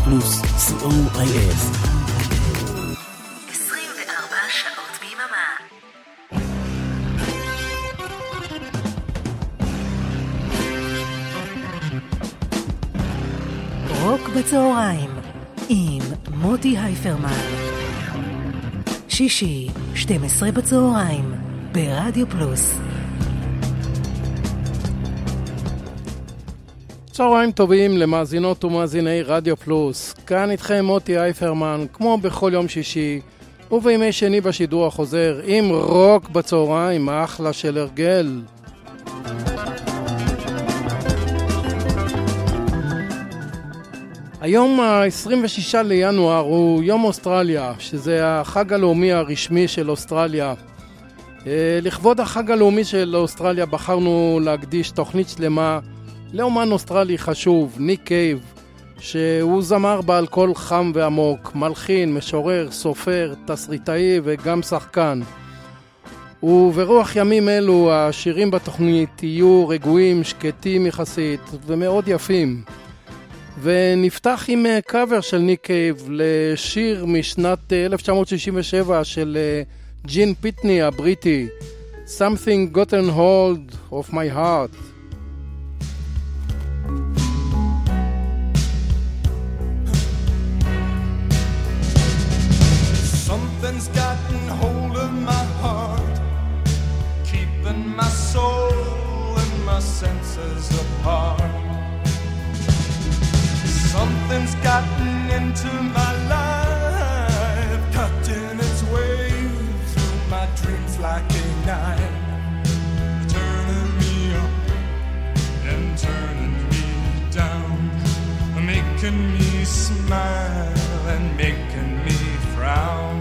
פלוס, co.il. 24 שעות ביממה. רוק בצהריים עם מוטי הייפרמן. שישי, 12 בצהריים, ברדיו פלוס. צהריים טובים למאזינות ומאזיני רדיו פלוס. כאן איתכם מוטי הייפרמן, כמו בכל יום שישי, ובימי שני בשידור החוזר, עם רוק בצהריים, אחלה של הרגל. היום ה-26 לינואר הוא יום אוסטרליה, שזה החג הלאומי הרשמי של אוסטרליה. לכבוד החג הלאומי של אוסטרליה בחרנו להקדיש תוכנית שלמה לאומן אוסטרלי חשוב, ניק קייב, שהוא זמר בעל קול חם ועמוק, מלחין, משורר, סופר, תסריטאי וגם שחקן. וברוח ימים אלו השירים בתוכנית יהיו רגועים, שקטים יחסית ומאוד יפים. ונפתח עם קאבר של ניק קייב לשיר משנת 1967 של ג'ין פיטני הבריטי, Something Gotten Hold of My Heart. Something's gotten hold of my heart, keeping my soul and my senses apart. Something's gotten into my life, cutting its way through my dreams like a knife, turning me up and turning me down, making me smile and making me frown.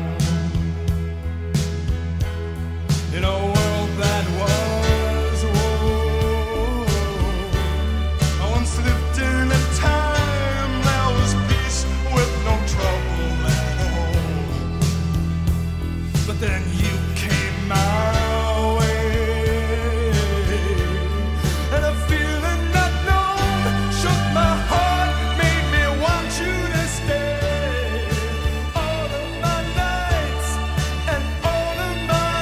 In a world that was, I once lived in a time there was peace with no trouble at all. But then you came my way, and a feeling not known shook my heart, made me want you to stay. All of my nights and all of my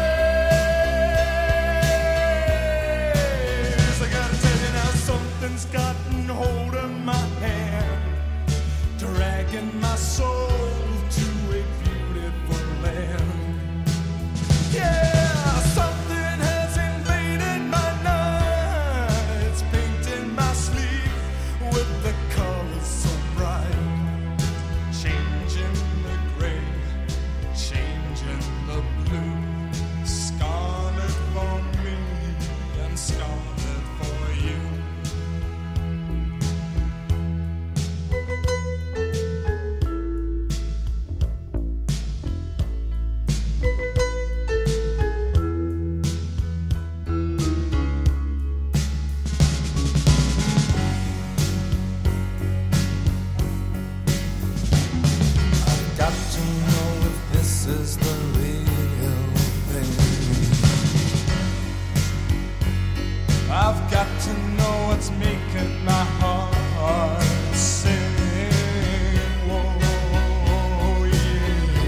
days. I gotta tell you now, something's gotten hold of my hand, dragging my soul to a beautiful land. Yeah, something has invaded my nights, painting my sleep with the colors so bright, changing the gray, changing the blue, scarlet for me and scarlet for you. Got to know if this is the real thing. I've got to know what's making my heart sing. Whoa, yeah.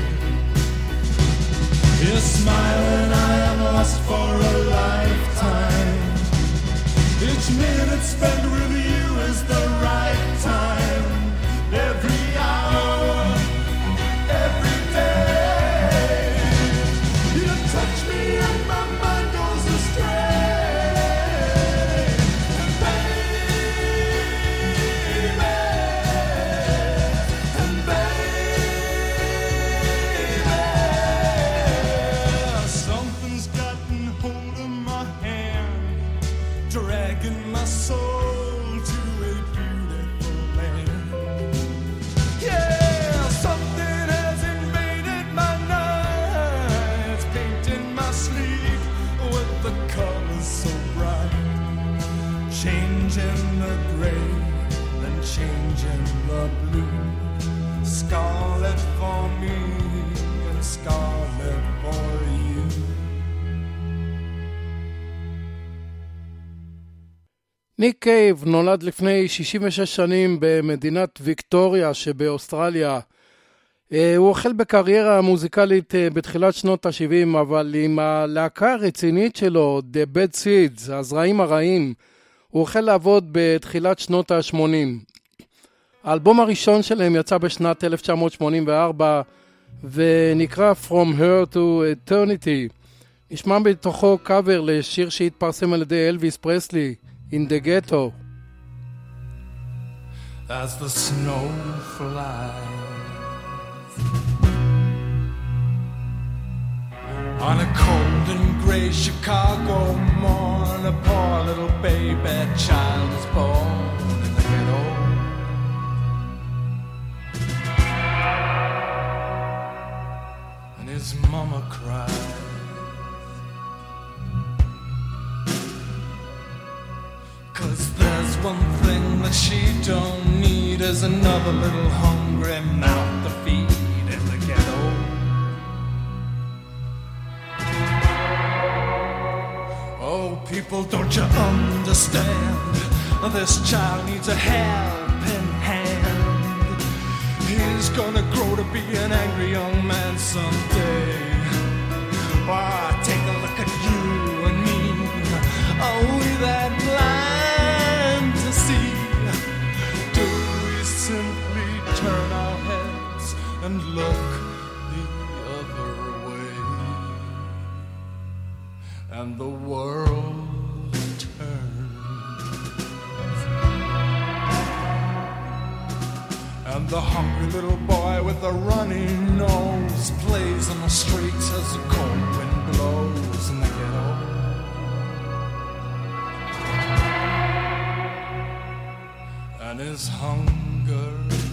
You're smiling, I am lost for a lifetime. Each minute spent with you is the right time. Every hour, every day, you touch me and my mind goes astray. And baby, something's gotten hold of my hand, dragging my soul to a beautiful land. Yeah, something has invaded my nights, painting my sleep with the colors so bright, changing the gray and changing the blue, scarlet for me and scarlet for you. ניק קייב נולד לפני 66 שנים במדינת ויקטוריה שבאוסטרליה. הוא החל בקריירה מוזיקלית בתחילת שנות ה-70, אבל עם הלהקה הרצינית שלו, The Bad Seeds, הזרעים הרעים, הוא החל לעבוד בתחילת שנות ה-80. האלבום הראשון שלהם יצא בשנת 1984, ונקרא From Her to Eternity. נשמע בתוכו קאבר לשיר שהתפרסם על ידי אלוויס פרסלי, In the Ghetto. As the snow flies on a cold and gray Chicago morn, a poor little baby child is born in the ghetto. And his mama cries, 'cause there's one thing that she don't need, is another little hungry mouth to feed in the ghetto. Oh, people, don't you understand? This child needs a helping hand. He's gonna grow to be an angry young man someday. Why, take a look at you and me. Are we that blind to see? Do we simply turn our heads and look the other way? And the world turns, and the hungry little boy with the runny nose plays on the streets as the cold wind blows in the ghetto. And his hunger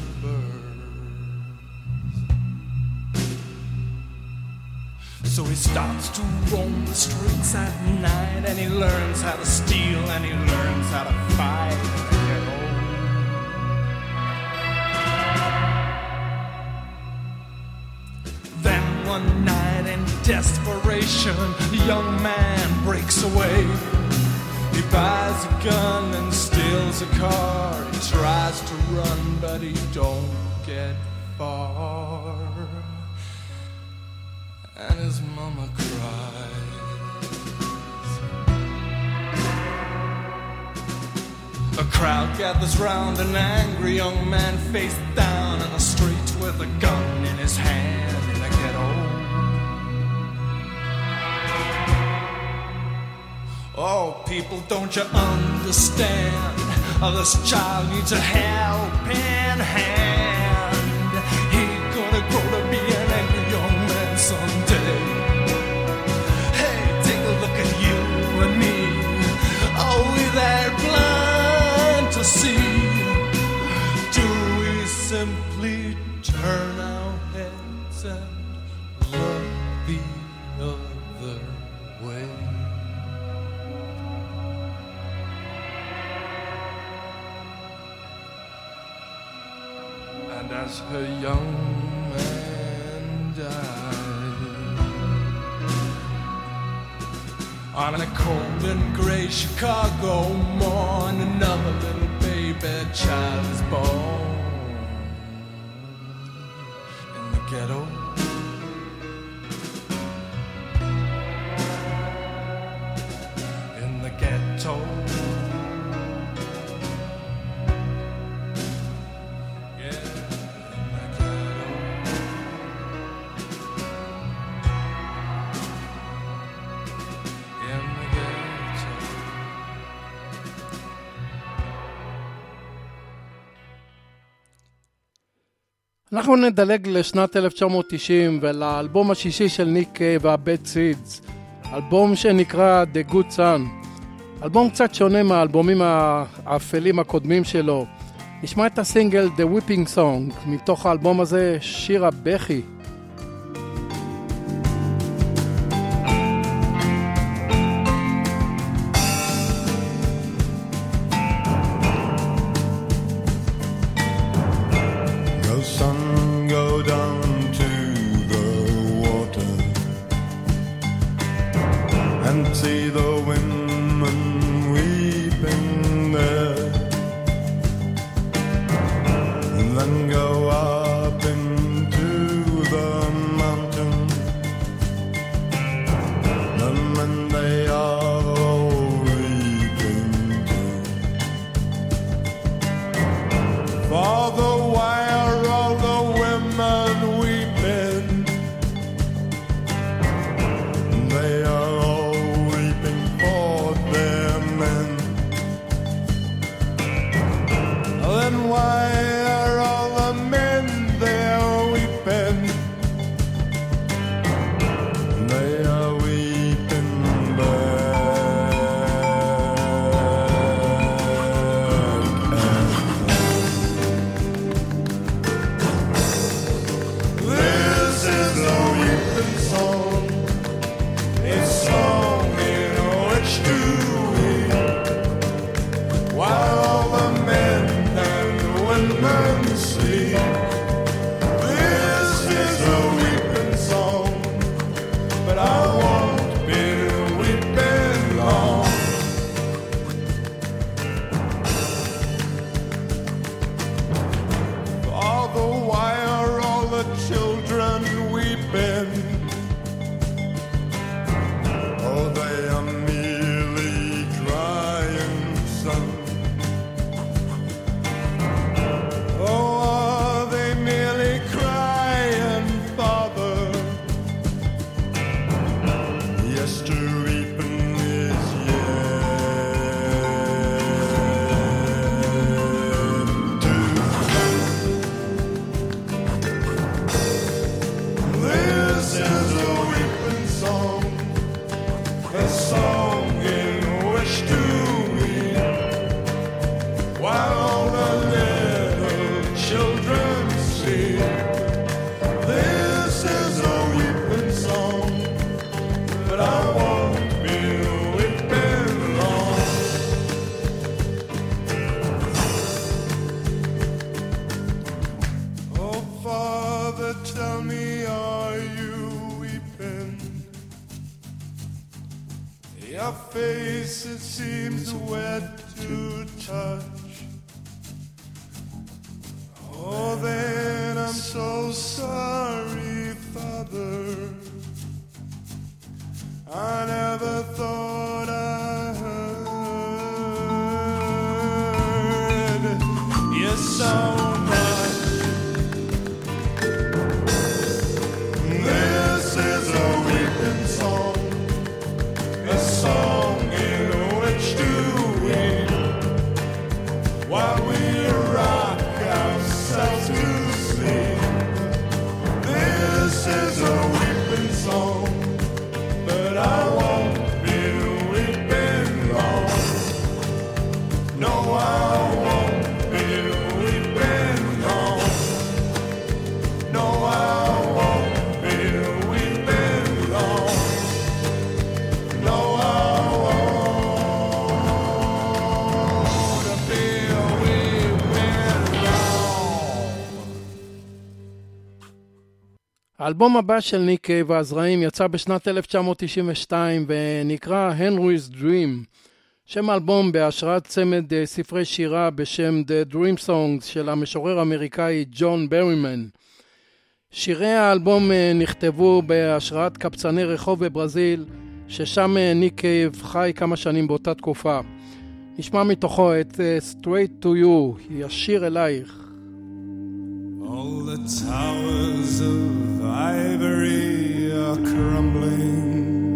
burns, so he starts to roam the streets at night, and he learns how to steal, and he learns how to fight in the ghetto. Then one night in desperation, the young man breaks away. He buys a gun and steals a car. He tries to run, but he don't get far. And his mama cries. A crowd gathers round an angry young man face down in the street with a gun in his hand in the ghetto. Oh, people, don't you understand? This child needs a helping hand. He's gonna grow to be an angry young man someday. Hey, take a look at you and me. Are we that blind to see? Do we simply turn our heads and look the other way? And as her young man died on a cold and gray Chicago morn, another little baby child is born in the ghetto. In the ghetto. אנחנו נדלג לשנת 1990 ולאלבום השישי של ניק קייב וה-Bad Seeds, אלבום שנקרא The Good Son. אלבום קצת שונה מהאלבומים האפלים הקודמים שלו. נשמע את הסינגל The Weeping Song, מתוך האלבום הזה שיר הבכי. See the women weeping face, it seems wet to touch. Oh, then I'm so sorry, Father. I never thought I heard you so much. This is a weeping song, a song in which to weep while we rock ourselves to sleep. This is a weeping song, but I won't be weeping long. No, I won't be weeping long. No, I won't be weeping long. No, I won't be weeping long. האלבום הבא של ניק קייב והזרעים יצא בשנת 1992 ונקרא Henry's Dream, שם האלבום בהשראת צמד ספרי שירה בשם The Dream Songs של המשורר האמריקאי ג'ון ברימן. שירי האלבום נכתבו בהשראת קבצני רחוב בברזיל, ששם ניק קייב חי כמה שנים באותה תקופה. נשמע מתוכו את Straight to You, ישיר אלייך. All the towers of ivory are crumbling,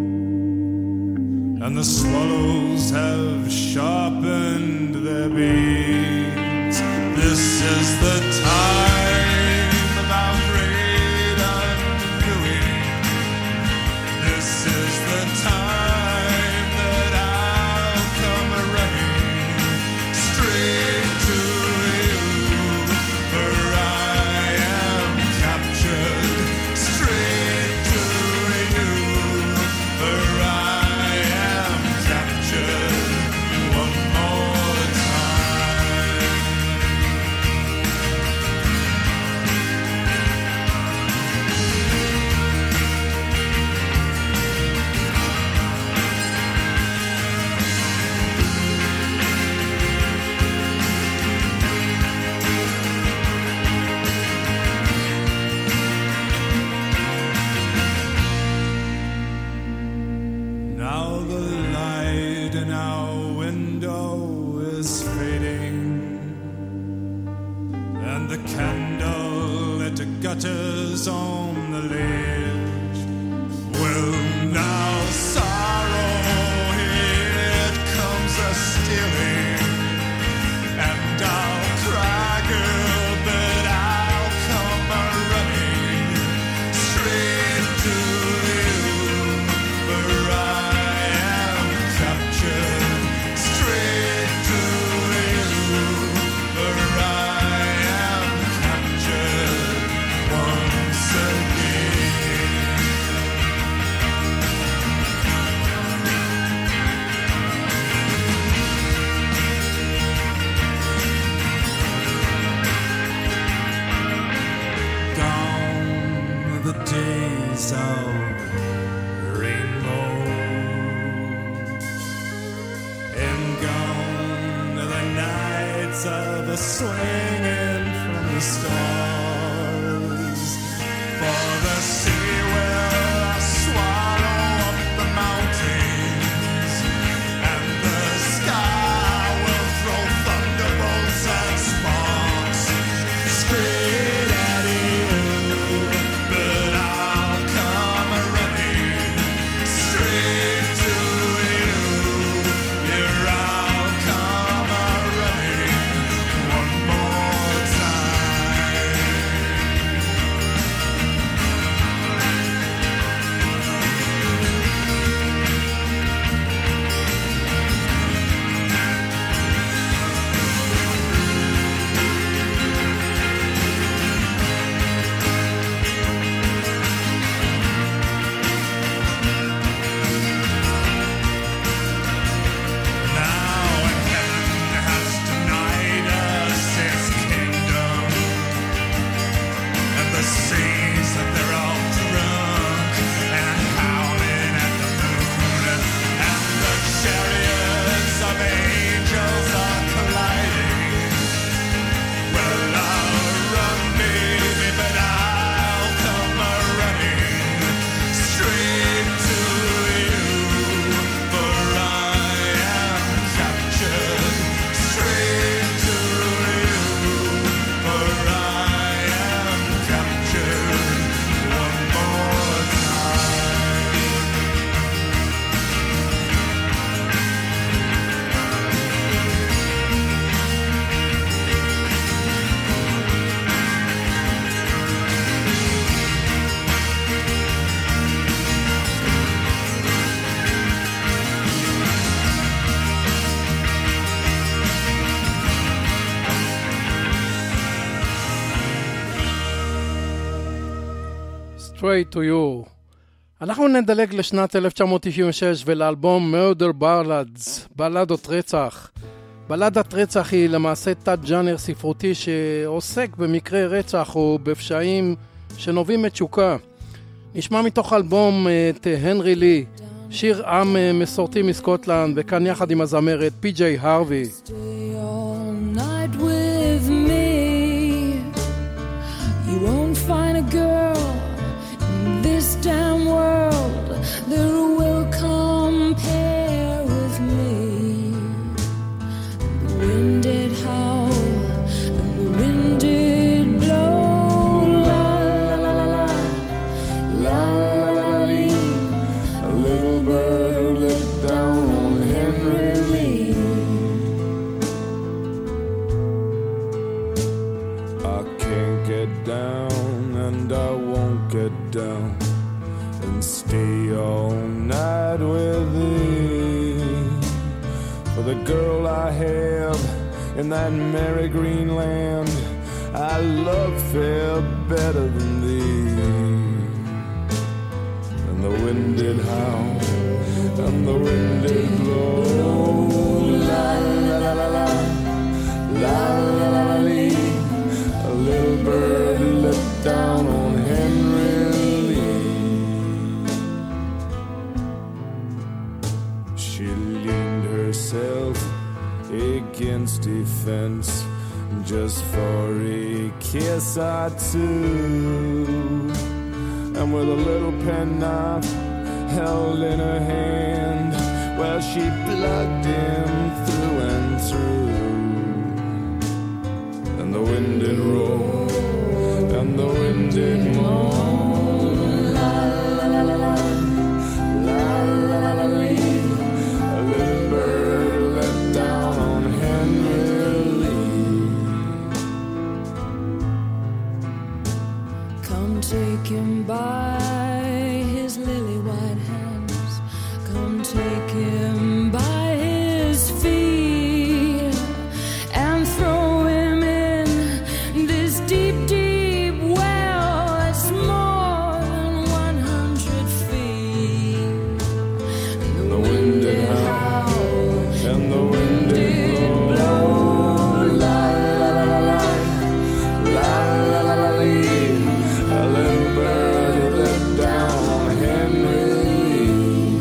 and the swallows have sharpened their beaks. This is the time of our great undoing. This is the time that I'll come running straight to you, for I am captured. Straight to you, for I am captured one more time. Now the light in our window is fading, and the candle it gutters on the ledge. Well, now sorrow it comes a stealing, and I'll cry, girl, but I'll come a running straight to you, for I am captured. Straight to you, for I am captured once again. Gone the days of rainbow, and gone the nights of swinging from the stars. For the sea will swallow up the mountains, and the sky will throw thunderbolts and sparks straight at you, but I'll come running straight to you. Here I'll come running one more time. Straight to You. אנחנו נדלג לשנת 1996 ולאלבום Murder Ballads, בלדות רצח. בלדת רצח היא למעשה תת-ג'אנר ספרותי שעוסק במקרה רצח או בפשעים שנובעים מתשוקה. נשמע מתוך אלבום את הנרי לי, שיר עם מסורתי מסקוטלנד, וכאן יחד עם הזמרת פי.ג'יי הרווי. Stay all night with me. You won't find a girl in this damn world that will compare with me. The wind did howl and the wind did blow. La la la la la la la la. A little bird let down on Henry Lee. I can't get down and I won't get down and stay all night with thee. For the girl I have in that merry green land, I love fair better than thee. And the wind did howl and the wind did blow. La la la la la la la la la lee. A little bird let down on Henry Lee. She leaned herself against a fence just for a kiss or two, and with a little penknife held in her hand, well, she plugged him through and through. And the wind did roll and the wind did moan. La la la la la la la la la lee. A little bird let down on Henry Lee. Come take him by his lily white hands. Come take him by his feet and throw him in this deep, deep well that's more than 100 feet. And the wind did howl And the wind did blow. La la la la la la la la la lee. A little bird let down on Henry Lee.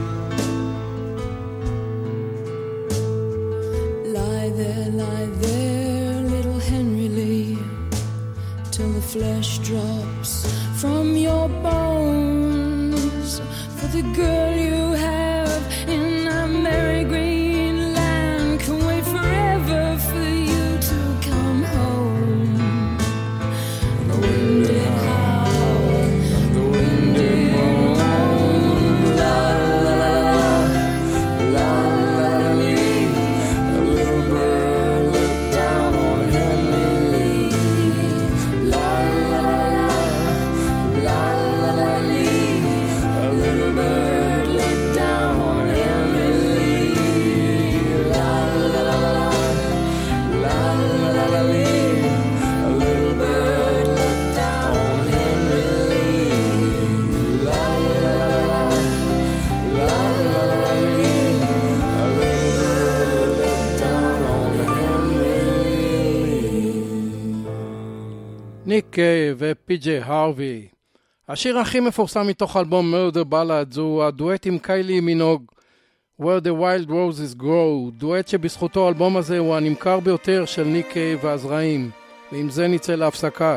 Lie there, little Henry Lee, till the flesh drops from your bones. For the girl you have in that merry green land can wait forever for you to come home. And the wind did howl and the wind did moan. La la la la la la la lee. A little bird let down on Henry Lee. La la la la la la lee. A little bird let down on Henry Lee. La la la la la la la lee. A little bird let down on Henry Lee. La la la la la la lee. A little bird let down on Henry Lee. ניק קיי ופי.ג'יי הרווי. השיר הכי מפורסם מתוך אלבום Murder Ballads הוא הדואט עם קיילי מינוג, Where the Wild Roses Grow, דואט שבזכותו האלבום הזה הוא הנמכר ביותר של ניק קיי והזרעים, ועם זה נצא להפסקה.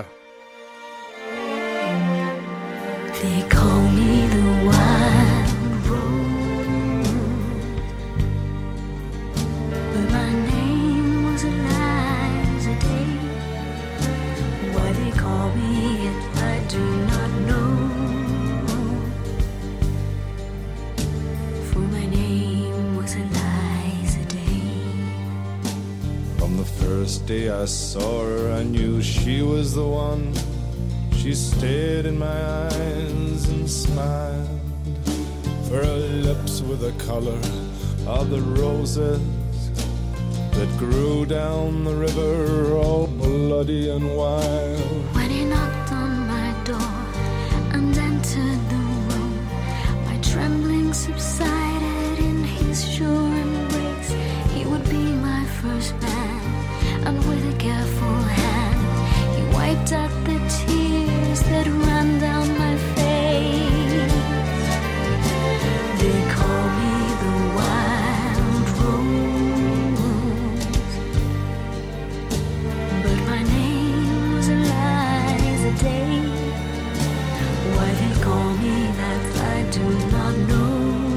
They call me the wild rose, but my name was Eliza Day. Why they call me it, I do not know. For my name was Eliza Day. From the first day I saw her, I knew she was the one. She stared in my eyes and smiled. For her lips were the color of the roses that grew down the river, all bloody and wild. When he knocked on my door and subsided in his sure embrace, he would be my first man, and with a careful hand, he wiped out the tears that ran down my face. They call me the wild rose, but my name was Eliza Day. Why they call me that I do not know,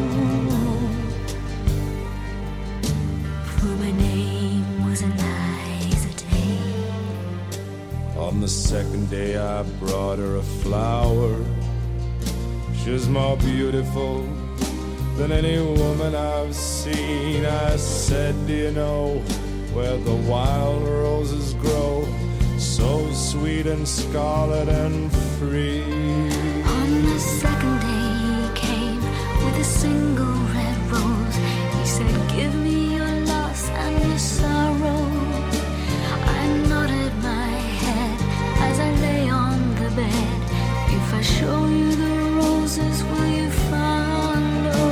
for my name was Eliza Day. On the second day I brought her a flower. She was more beautiful than any woman I've seen. I said, do you know where the wild roses grow, so sweet and scarlet and free? On the second day he came with a single red rose. He said, give me your loss and your sorrow. I nodded my head as I lay on the bed. If I show you the roses, will you follow?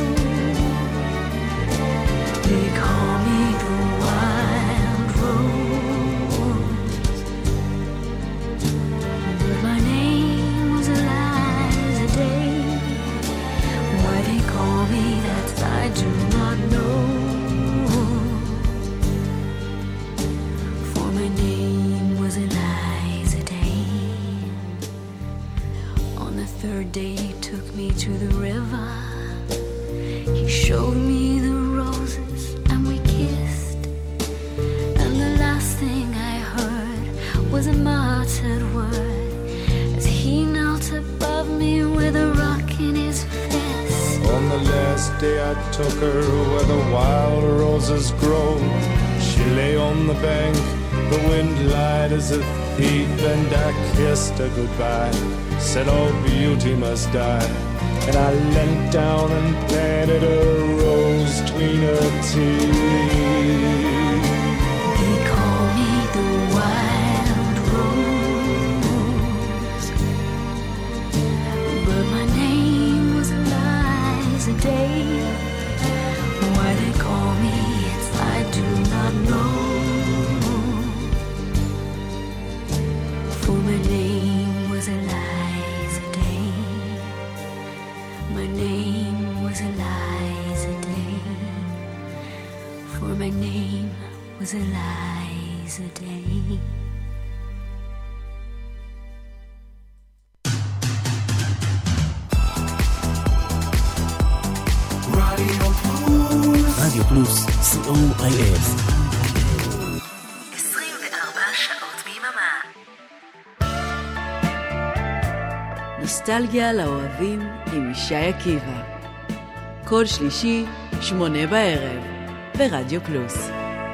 They call me the wild rose, but my name was Eliza Day. Why they call me that I do not know, for my name was Eliza Day. On the third day he took me to the river. He showed me the roses and we kissed, and the last thing I heard was a muttered word as he knelt above me with a rock in his fist. On the last day I took her where the wild roses grow. She lay on the bank, the wind lied as a thief, and I kissed her goodbye, said all beauty must die. And I leant down and planted a rose between her teeth. They call me the wild rose, but my name was Eliza Day. Why they call me it I do not know, for my name was Eliza Day. My name was Eliza Day, for my name was Eliza Day. רדיו פלוס, COIF. 24 שעות ביממה. נוסטלגיה לאוהבים עם ישי עקיבא. כל שלישי, 8 בערב, ברדיו פלוס.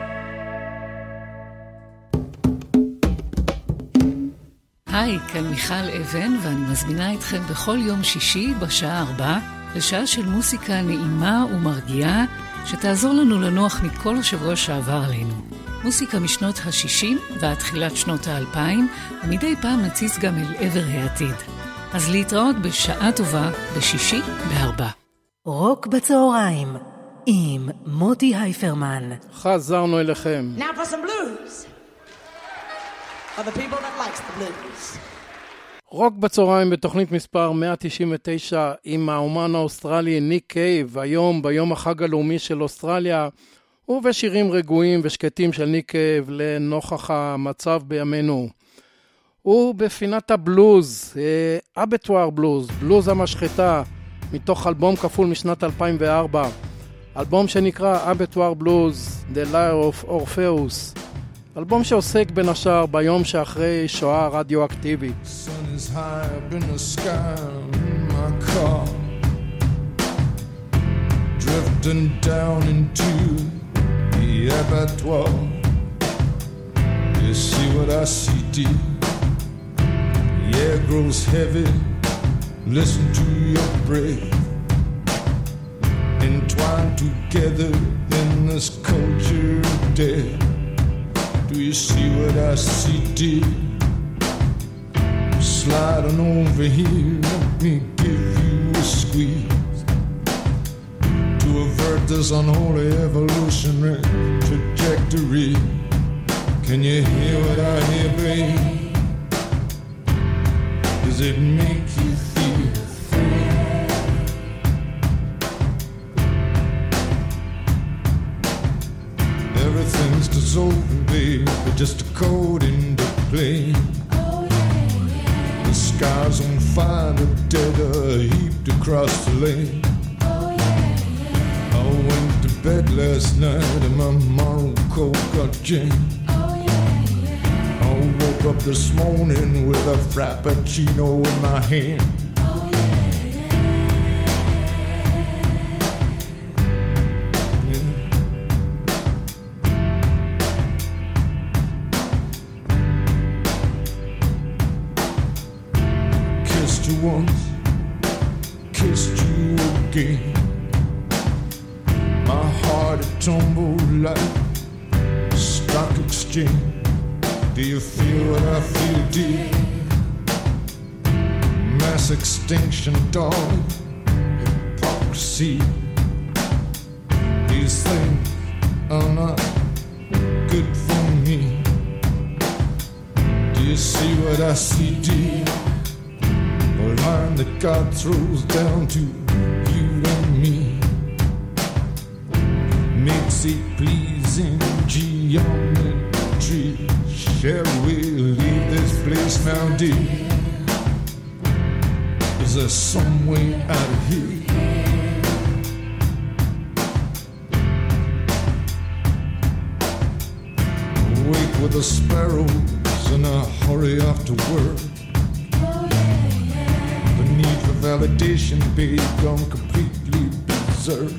היי, כאן מיכל אבן, ואני מזמינה אתכם בכל יום שישי בשעה 4 לשעה של מוסיקה נעימה ומרגיעה שתעזור לנו לנוח מכל השבוע שעבר עלינו. מוסיקה משנות ה-60 ועד תחילת שנות ה-2000, ומדי פעם נציץ גם אל עבר העתיד. אז להתראות בשעה טובה בשישי ב-4. רוק בצהריים עם מוטי הייפרמן. חזרנו אליכם. Now for some blues. For the people that likes the blues. רוק בצהריים בתוכנית מספר 199 עם האומן האוסטרלי ניק קייב, היום ביום החג הלאומי של אוסטרליה, ובשירים רגועים ושקטים של ניק קייב לנוכח המצב בימינו. ובפינת הבלוז, אבטואר בלוז, בלוז המשחטה, מתוך אלבום כפול משנת 2004, אלבום שנקרא אבטואר בלוז, The Lyre of Orpheus, אלבום שעוסק בין השאר ביום שאחרי שואה רדיואקטיבית. Sun is high up in the sky in my car, drifting down into the abattoir. You see what I see, dear? The air grows heavy, listen to your breath, entwined together in this culture of death. Do you see what I see, dear? Slide on over here, let me give you a squeeze. this unholy evolutionary trajectory. Can you hear what I hear, babe? Does it make you feel free? Everything's dissolving, babe, but just a code into play. The sky's on fire, the dead are heaped across the lane. I went to bed last night and my moral code got jammed. I woke up this morning with a frappuccino in my hand. Kissed you once, kissed you again. My heart had tumbled like a stock exchange. Do you feel what I feel, dear? Mass extinction, dog, hypocrisy. These things are not good for me. Do you see what I see, dear? A line that God throws down to you and me. Makes it pleasing geometry. Shall we leave this place now, dear? Is there some way out of here? Wake with the sparrows and I hurry off to work. The need for validation, babe, gone completely berserk.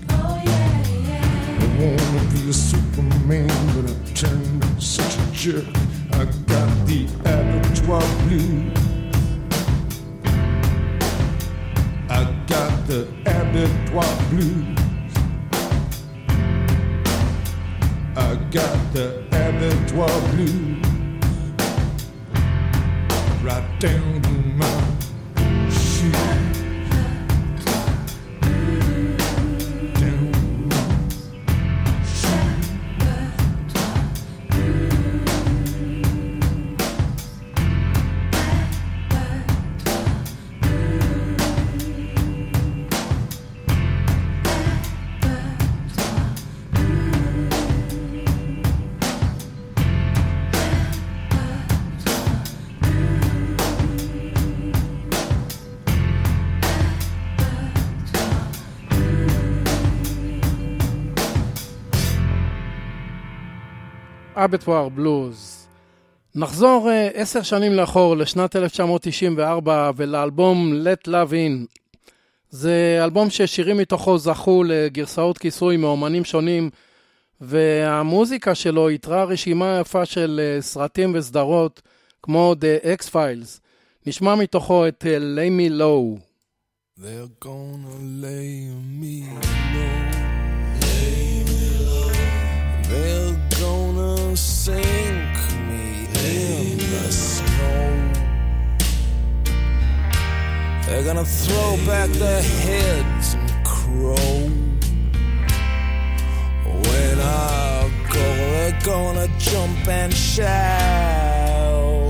I wanna be a Superman, but I turned such a jerk. I got the abattoir blues. I got the abattoir blues. I got the abattoir blues. Right down to my shoes. אבטואר בלוז. נחזור 10 שנים לאחור לשנת 1994 ולאלבום Let Love In. זה אלבום ששירים מתוכו זכו לגרסאות כיסוי מאומנים שונים, והמוזיקה שלו יתרה רשימה יפה של סרטים וסדרות כמו The X-Files. נשמע מתוכו את Lay Me Low. They're gonna lay me low. Lay me low. They're gonna sink me in the snow. They're gonna throw back their heads and crow. When I go, they're gonna jump and shout.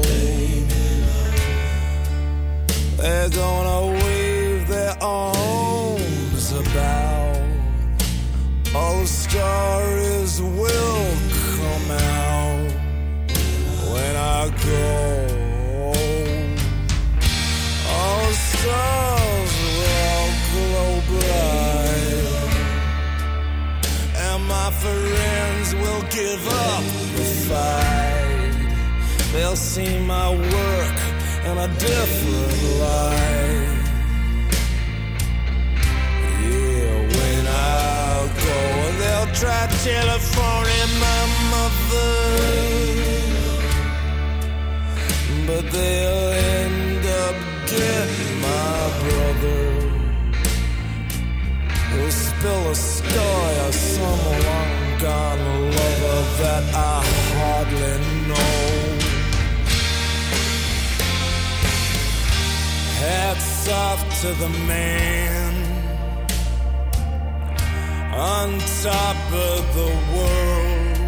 They're gonna wave their arms about. All the stories will come out when I go. All the stars will glow bright, and my friends will give up the fight. They'll see my work in a different light. Yeah, when I go, they'll try telephoning my mother, but they'll end up getting my brother, who'll spill a story of some long-gone lover that I hardly know. Hats off to the man on top of the world.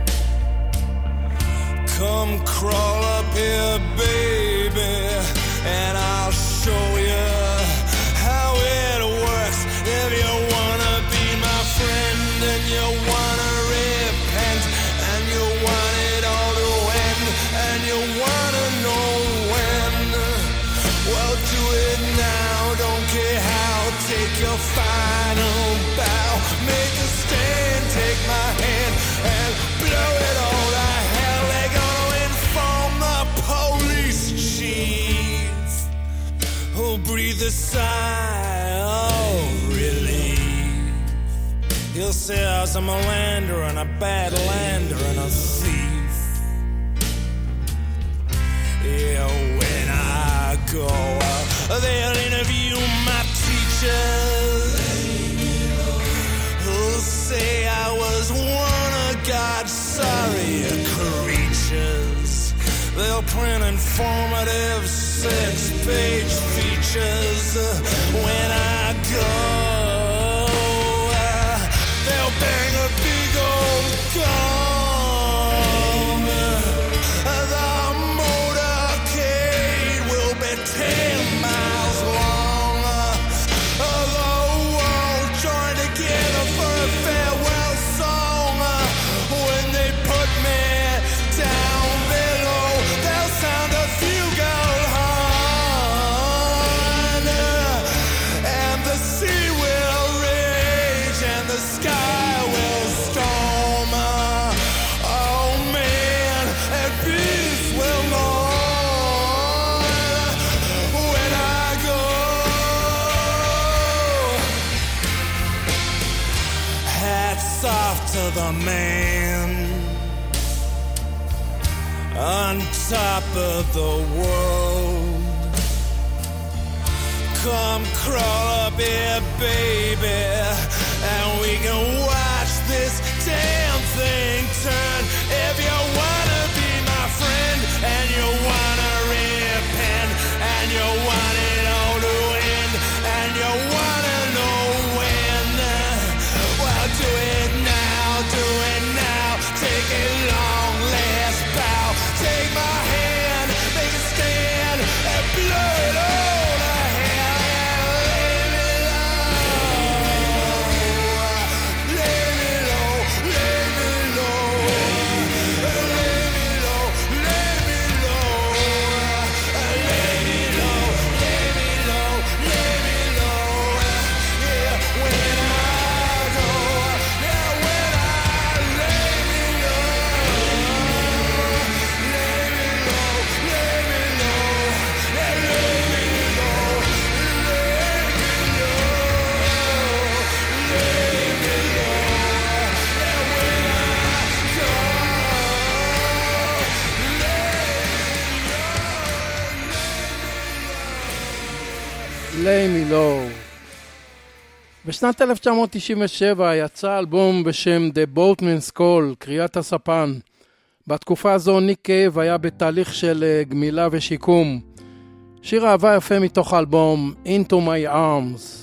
Come crawl up here, baby, and I'll show you how it works. If you wanna be my friend and you wanna repent and you want it all to end and you wanna know when, well, do it now, don't care how. Take your final bow, make a stand, take my hand and blow it all to hell. They're gonna inform the police chief, who'll breathe a sigh of relief. He'll say I was a melander and a bad lander and a thief. Yeah, when I go out, they'll interview my teachers, who'll say I was one of God's sorrier creatures. They'll print informative 6-page features. When I go, they'll bang a big old gong. The motorcade will be 10 miles long. The world joined together for a farewell song. When they put me down below, they'll sound a fugal horn, and the sea will rage and the sky will storm. Oh man, and peace will mourn when I go. Hats off to the man on top of the world. Come crawl up here, baby, and we can watch this damn thing turn. If you wanna be my friend and you wanna repent and you want it all to end and you wanna know when, well, do it now, do it now. Take a long last bow, take my hand, make a stand and blow it all to hell and lay me low, lay me low, lay me low, lay me low, lay me low, lay me low, lay me low, lay me low. Yeah, when I go, yeah, when I lay me low, lay me low, lay me low, yeah, lay me low, lay me low, lay me low, yeah, when I go, lay me low. בשנת 1997 יצא אלבום בשם The Boatman's Call, קריאת הספן. בתקופה הזו ניק קייב היה בתהליך של גמילה ושיקום. שיר אהבה יפה מתוך האלבום Into My Arms.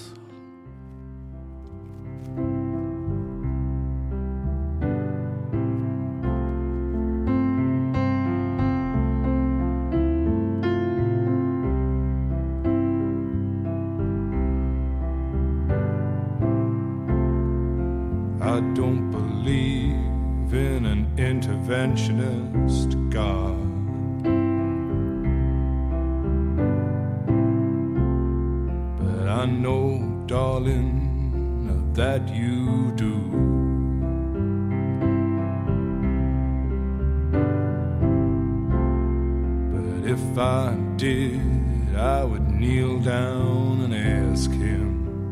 I don't believe in an interventionist God. But I know, darling, that you do. But if I did, I would kneel down and ask him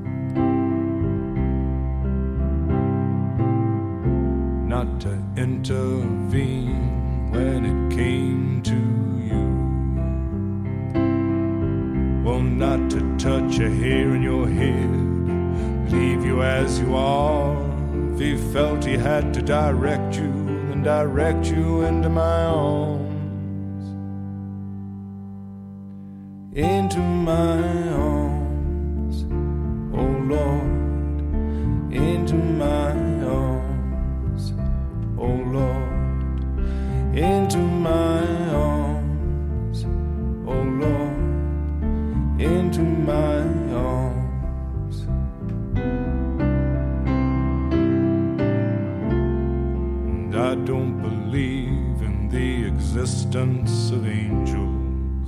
not to intervene when it came to you. Well, not to touch a hair in your head, leave you as you are. If he felt he had to direct you, then direct you into my arms. Into my arms, oh Lord, in into my arms, oh Lord, into my arms, oh Lord, into my arms. And I don't believe in the existence of angels,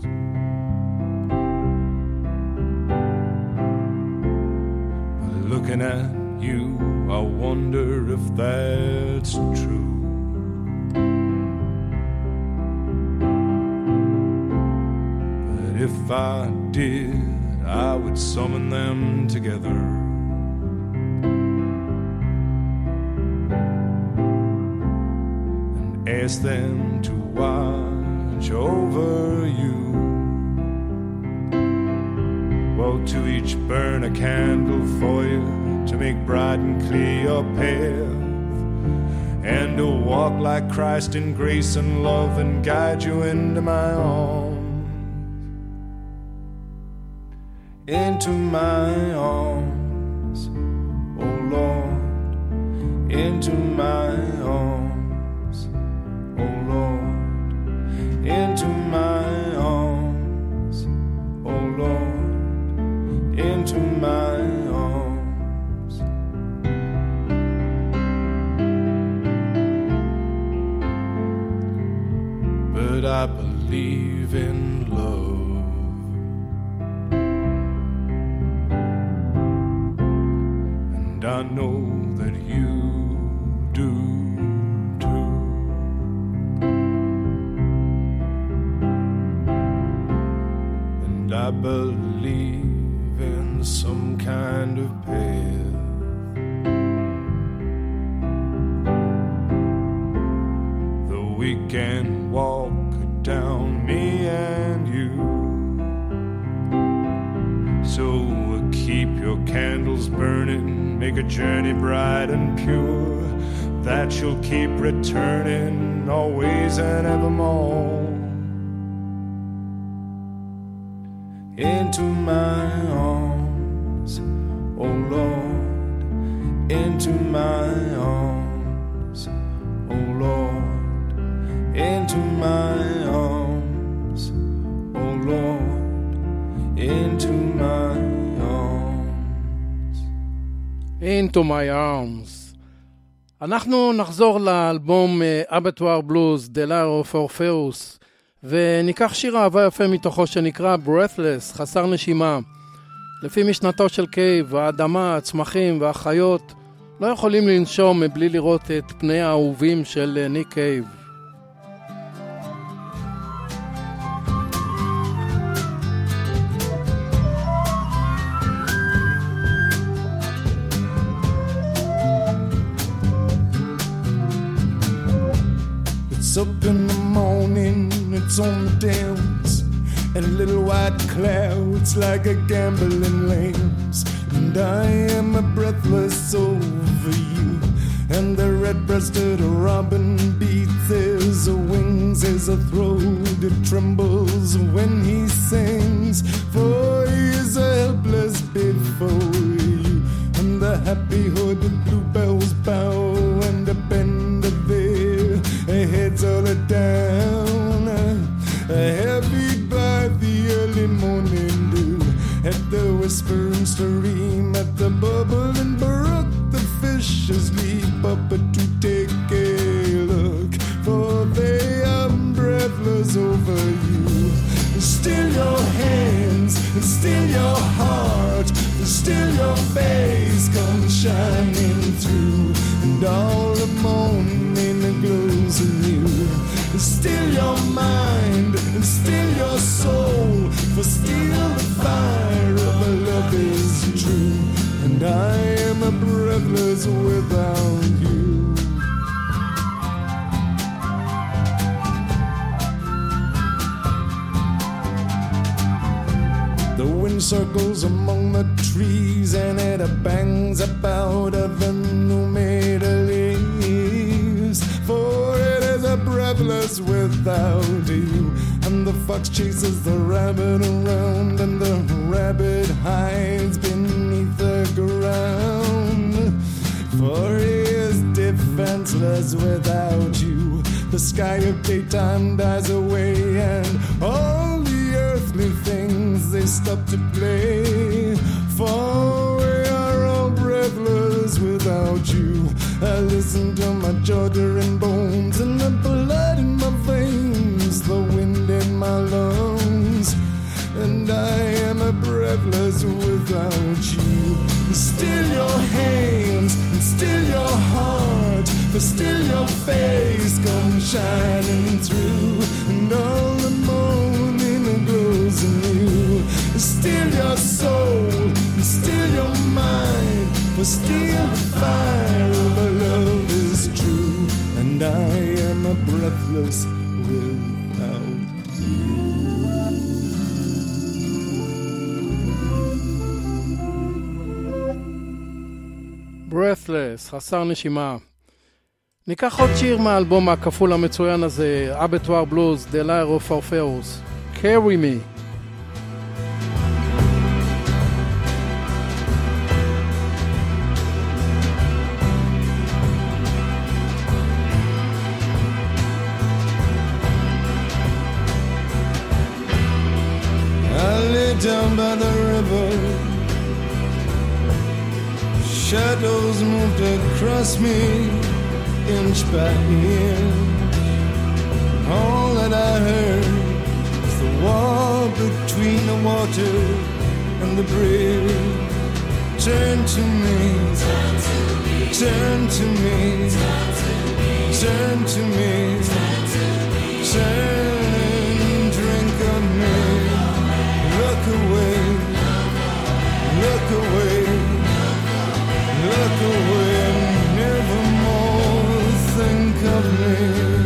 but looking at you, I wonder if that's true. But if I did, I would summon them together and ask them to watch over you. Well, to each burn a candle for you, to make bright and clear your path, and to walk like Christ in grace and love and guide you into my arms, into my arms, oh Lord, into my arms, oh Lord, into my arms, oh Lord, into my arms. But I believe in love, and I know that you do too. And I believe in some kind of path that we can walk down, me and you. So keep your candles burning, make a journey bright and pure, that you'll keep returning always and evermore. Into my arms, oh Lord, into my arms, oh Lord, into my arms, oh Lord, into my arms. Into my arms. אנחנו נחזור לאלבום אבטואר בלוז, The Lyre of Orpheus, וניקח שיר אהבה יפה מתוכו שנקרא Breathless, חסר נשימה. לפי משנתו של קייב, האדמה, הצמחים והחיות לא יכולים לנשום מבלי לראות את פני האהובים של ניק קייב. It's up in the morning, it's on the downs, and little white clouds like a gambling lambs. And I am breathless over you, and the red-breasted robin beats his wings as a throat it trembles when he sings. For he is helpless before you, and the happy hooded bluebells bow and bend their heads all down, heavy by the early morning dew, at the whispering stream, at the bubbling brook, the fishes leap up to take a look, for they are breathless over you. Still your hands, and still your heart, and still your face comes shining through, and all the morning glows anew. Still your mind, and still your soul, for still the fire of love is true, and I am breathless without you. The wind circles among the trees, and it bangs about the new-made leaves, for it is breathless without you. And the fox chases the rabbit around, and the rabbit hides beneath the ground, senseless without you. The sky of daytime dies away, and all the earthly things, they stop to play. For we are all breathless without you. I listen to my Georgian bones and the blood in my veins, the wind in my lungs, and I am a breathless without you. Still your hands, and still your heart, but still your face comes shining through, and all the morning glows in you. Still your soul, and still your mind, but still the fire of our love is true, and I am a breathless without you. Breathless, חסר נשימה. ניקח עוד שיר מהאלבום הכפול המצוין הזה, Abattoir Blues, The Lyre of Orpheus, Carry Me. I lay down by the river, shadows moved across me, inch by inch. All that I heard was the wall between the water and the bridge. Turn to me, turn to me, turn to me, turn, drink of me. Look away, look away, look away, nevermore think of me.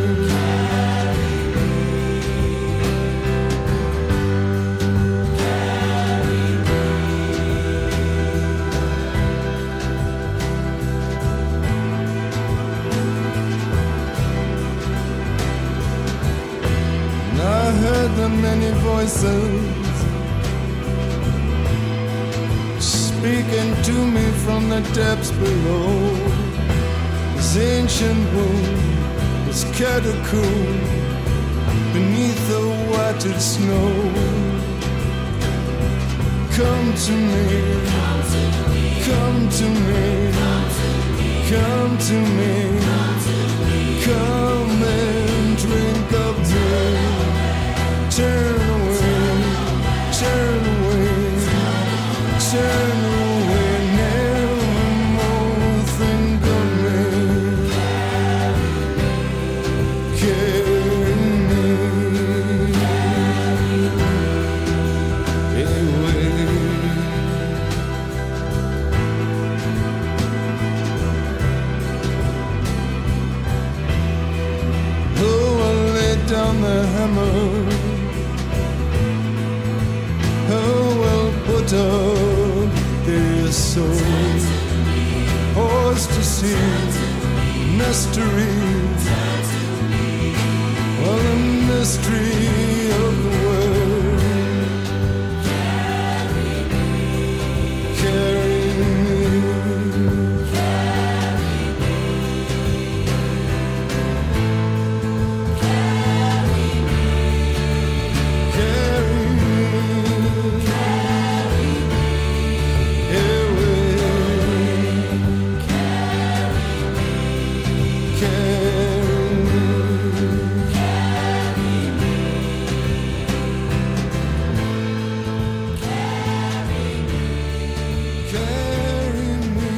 And I heard the many voices speaking to me from the depths below. This ancient wound, this catacomb beneath the whited snow. Come to me, come to me, come to me, come and drink of me. Turn away, turn away, turn away, never more think of me. Carry me away. Oh, I laid down the hammer. Oh, well, put up their soul. Horse to see, mystery. Well, the mystery of the world. Carry me, carry me, carry me, carry me, carry me, carry me away, carry me, carry me, carry me,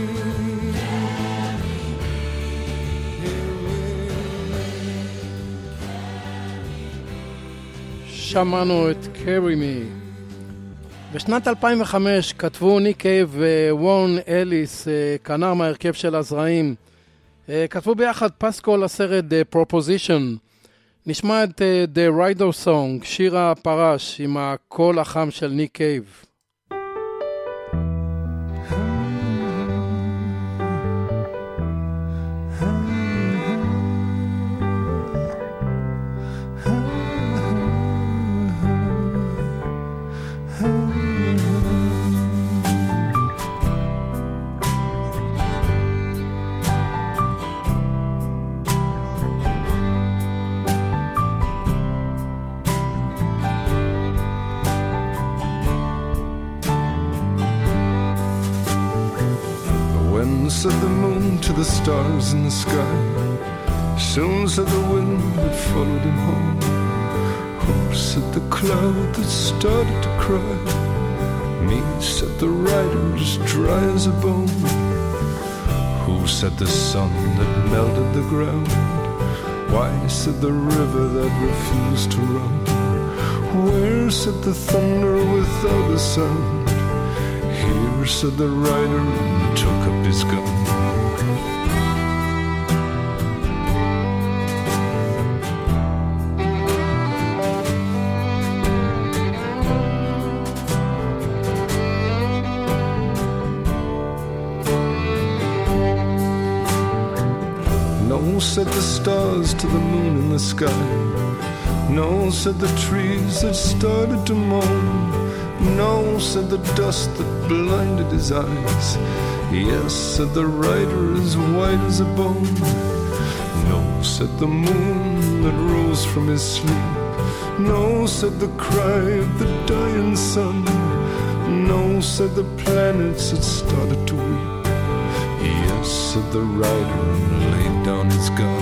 שמענו את Carry Me. בשנת 2005 כתבו ניק קייב ווורן אליס, כנר מהרכב של הזרעים, כתבו ביחד פסקול לסרט The Proposition. נשמע את The Rider Song, שיר הפרש עם הקול החם של ניק קייב. said the moon to the stars in the sky. Soon said the wind that followed him home. Who said the cloud that started to cry? Me, said the rider as dry as a bone. Who said the sun that melted the ground? Why, said the river that refused to run. Where, said the thunder without a sound. Here, said the rider and took up his gun. No, said the stars to the moon in the sky. No, said the trees that started to moan. No, said the dust that blinded his eyes. Yes, said the rider as white as a bone. No, said the moon that rose from his sleep. No, said the cry of the dying sun. No, said the planets that started to weep. Yes, said the rider and laid down his gun.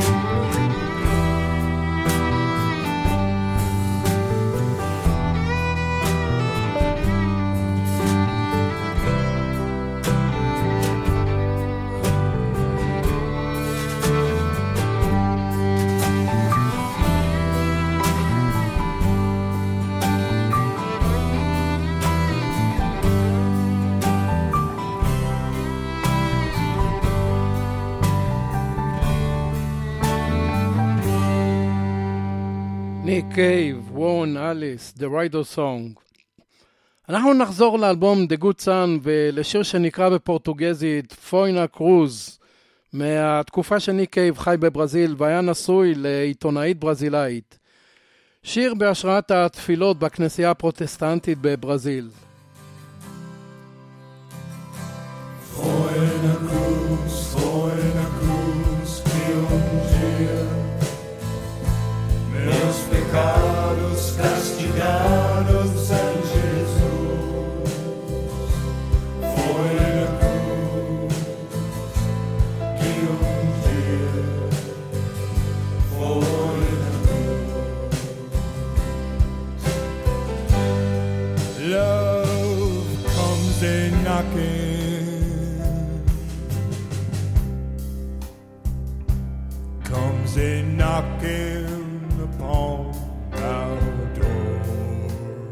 ניק קייב, וורן אליס, The Rider Song. אנחנו נחזור לאלבום The Good Son ולשיר שנקרא בפורטוגזית פוינה קרוז, מהתקופה שניק קייב חי בברזיל והיה נשוי לעיתונאית ברזילאית. שיר בהשראת התפילות בכנסייה הפרוטסטנטית בברזיל. Foina cruz, que dia meus pecados castigados em Jesus. Foi na cruz que dia foi na cruz. Love comes a knocking, comes a knocking upon our door.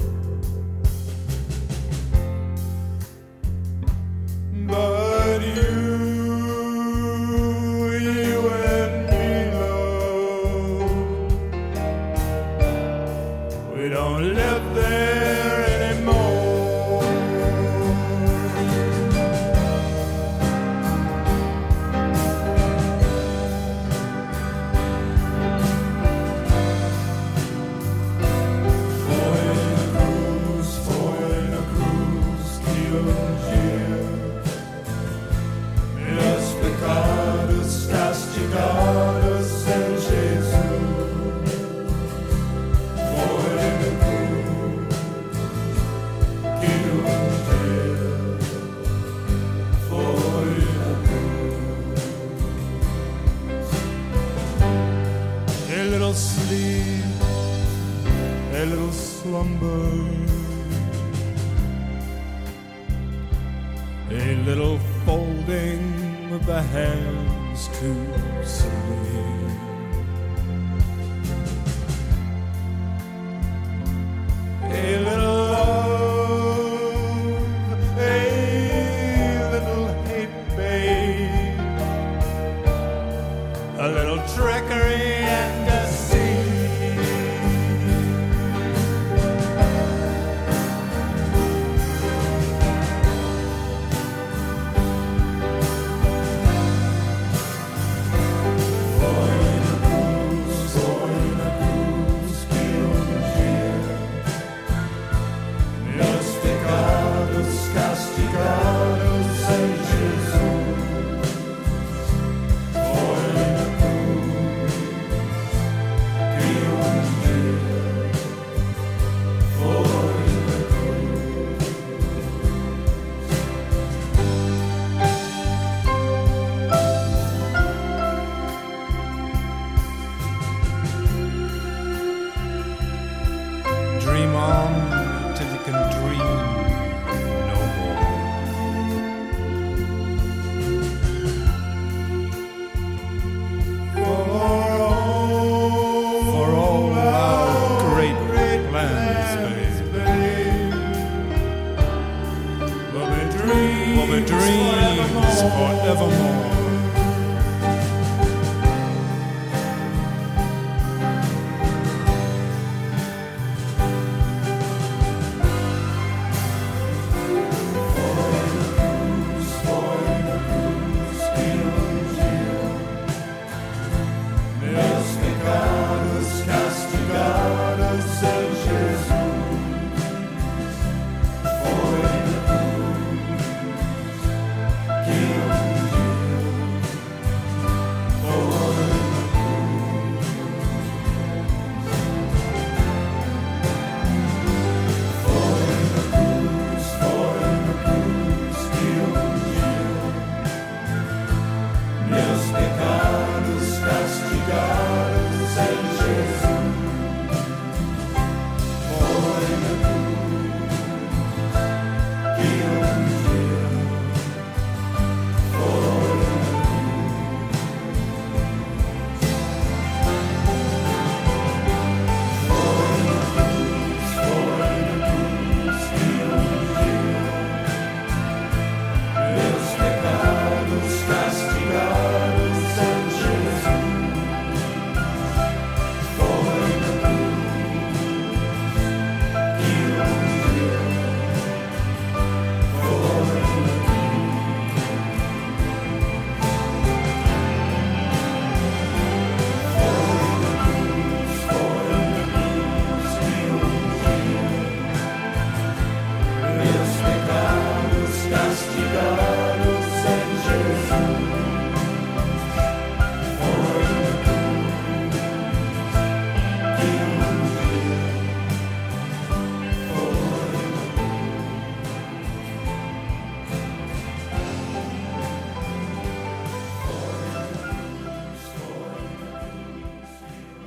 But you and me, love, we don't live there anymore. Sleep, a little slumber, a little folding of the hands to sleep. A little love, a little hate, babe, a little trickery and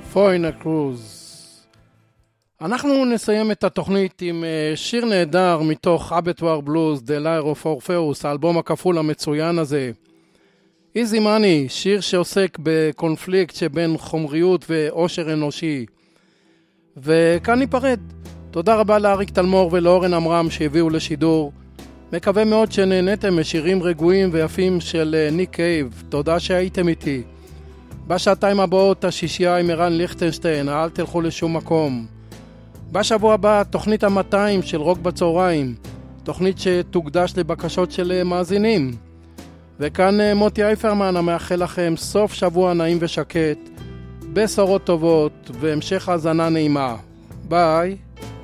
פוינה קרוז. אנחנו נסיים את התוכנית עם שיר נהדר מתוך אבטואר בלוז, The Lyre of Orpheus, האלבום הכפול המצוין הזה. Easy Money, שיר שעוסק בקונפליקט שבין חומריות ואושר אנושי. וכאן ניפרד. תודה רבה לאריק תלמור ולאורן אמרם שהביאו לשידור. מקווה מאוד שנהנתם משירים רגועים ויפים של ניק קייב. תודה שהייתם איתי. בשעתיים הבאות השישייה עם ערן ליכטנשטיין, אל תלכו לשום מקום. בשבוע הבא תוכנית ה-200 של רוק בצהריים, תוכנית שתוקדש לבקשות של מאזינים. וכאן מוטי אייפרמן המאחל לכם סוף שבוע נעים ושקט, בשורות טובות והמשך האזנה נעימה. ביי.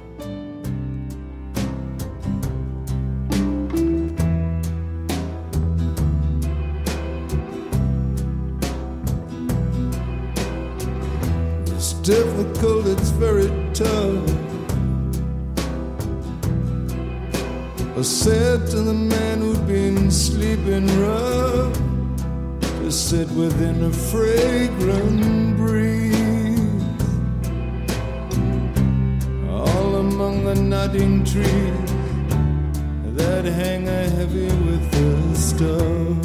Difficult, it's very tough. I said to the man who'd been sleeping rough to sit within a fragrant breeze, all among the nodding trees that hang heavy with the stuff.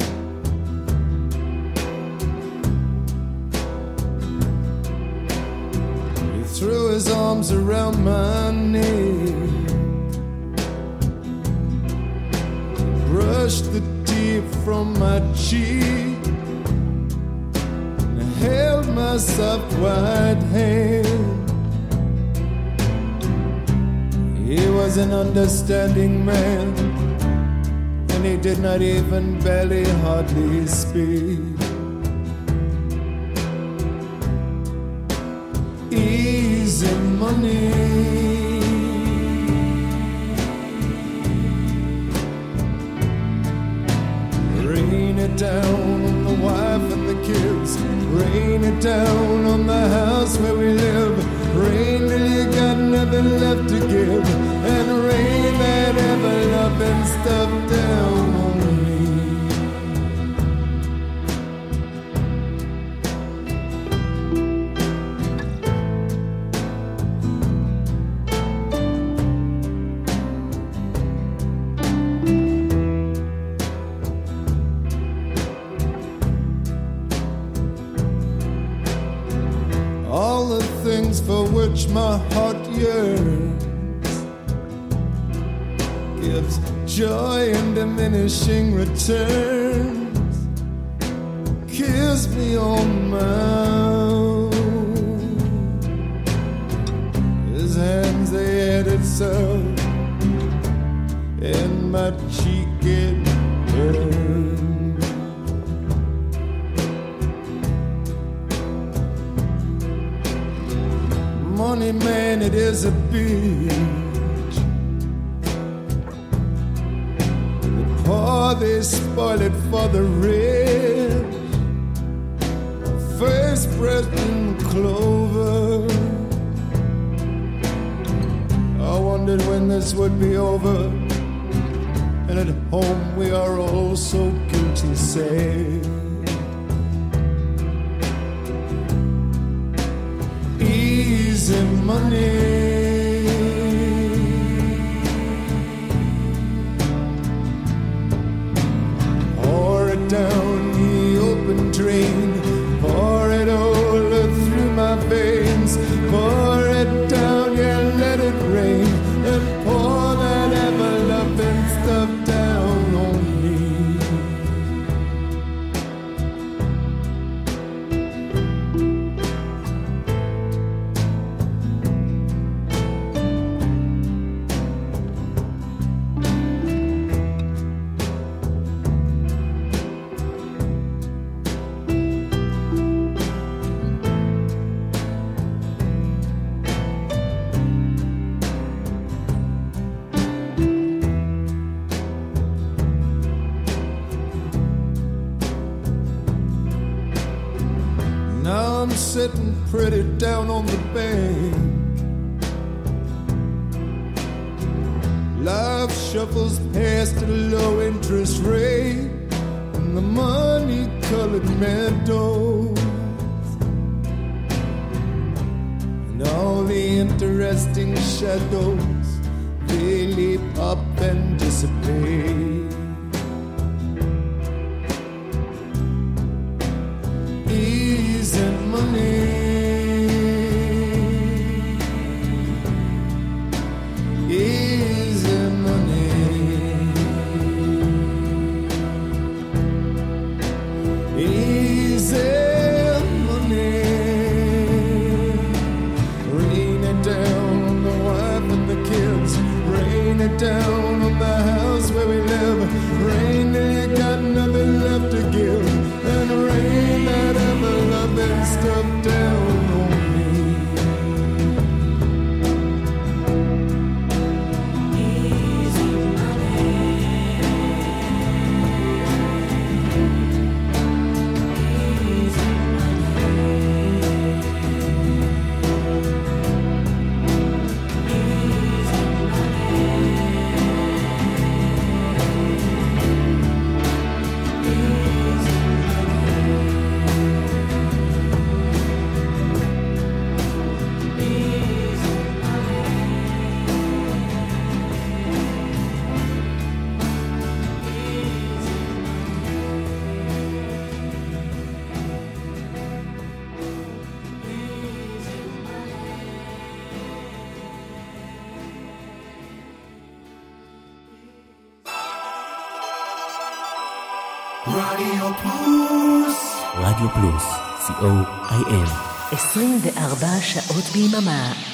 Threw his arms around my neck, brushed the tear from my cheek, and held my soft white hand. He was an understanding man, and he did not even barely hardly speak. Easy money, rain it down on the wife and the kids, rain it down on the house where we live, rain till you got nothing left to give, and rain that ever loving stuff down on me. For which my heart yearns gives joy and diminishing returns, kiss me on my mouth, his hands they had itself, and my cheek it burned. Money man, it is a bitch. The poor, they spoil it for the rich. First breath in clover. I wondered when this would be over, and at home we are all so guilty, say. Easy money, pour it down the open drain, pour it all through my veins, pour it down, yeah, let it rain, and pour that ever-loving stuff down on me. Sitting pretty down on the bank, life shuffles past a low interest rate and the money-colored meadows. casting shadows, they leap up and dissipate. Easy money, easy money, easy money. Rain it down on the wife and the kids, rain it down on the house where we live, rain ain't got nothing left to give, and rain that ever loving stuff down on me. Easy money, easy רדיו פלוס. רדיו פלוס, co.il. 24 שעות ביממה.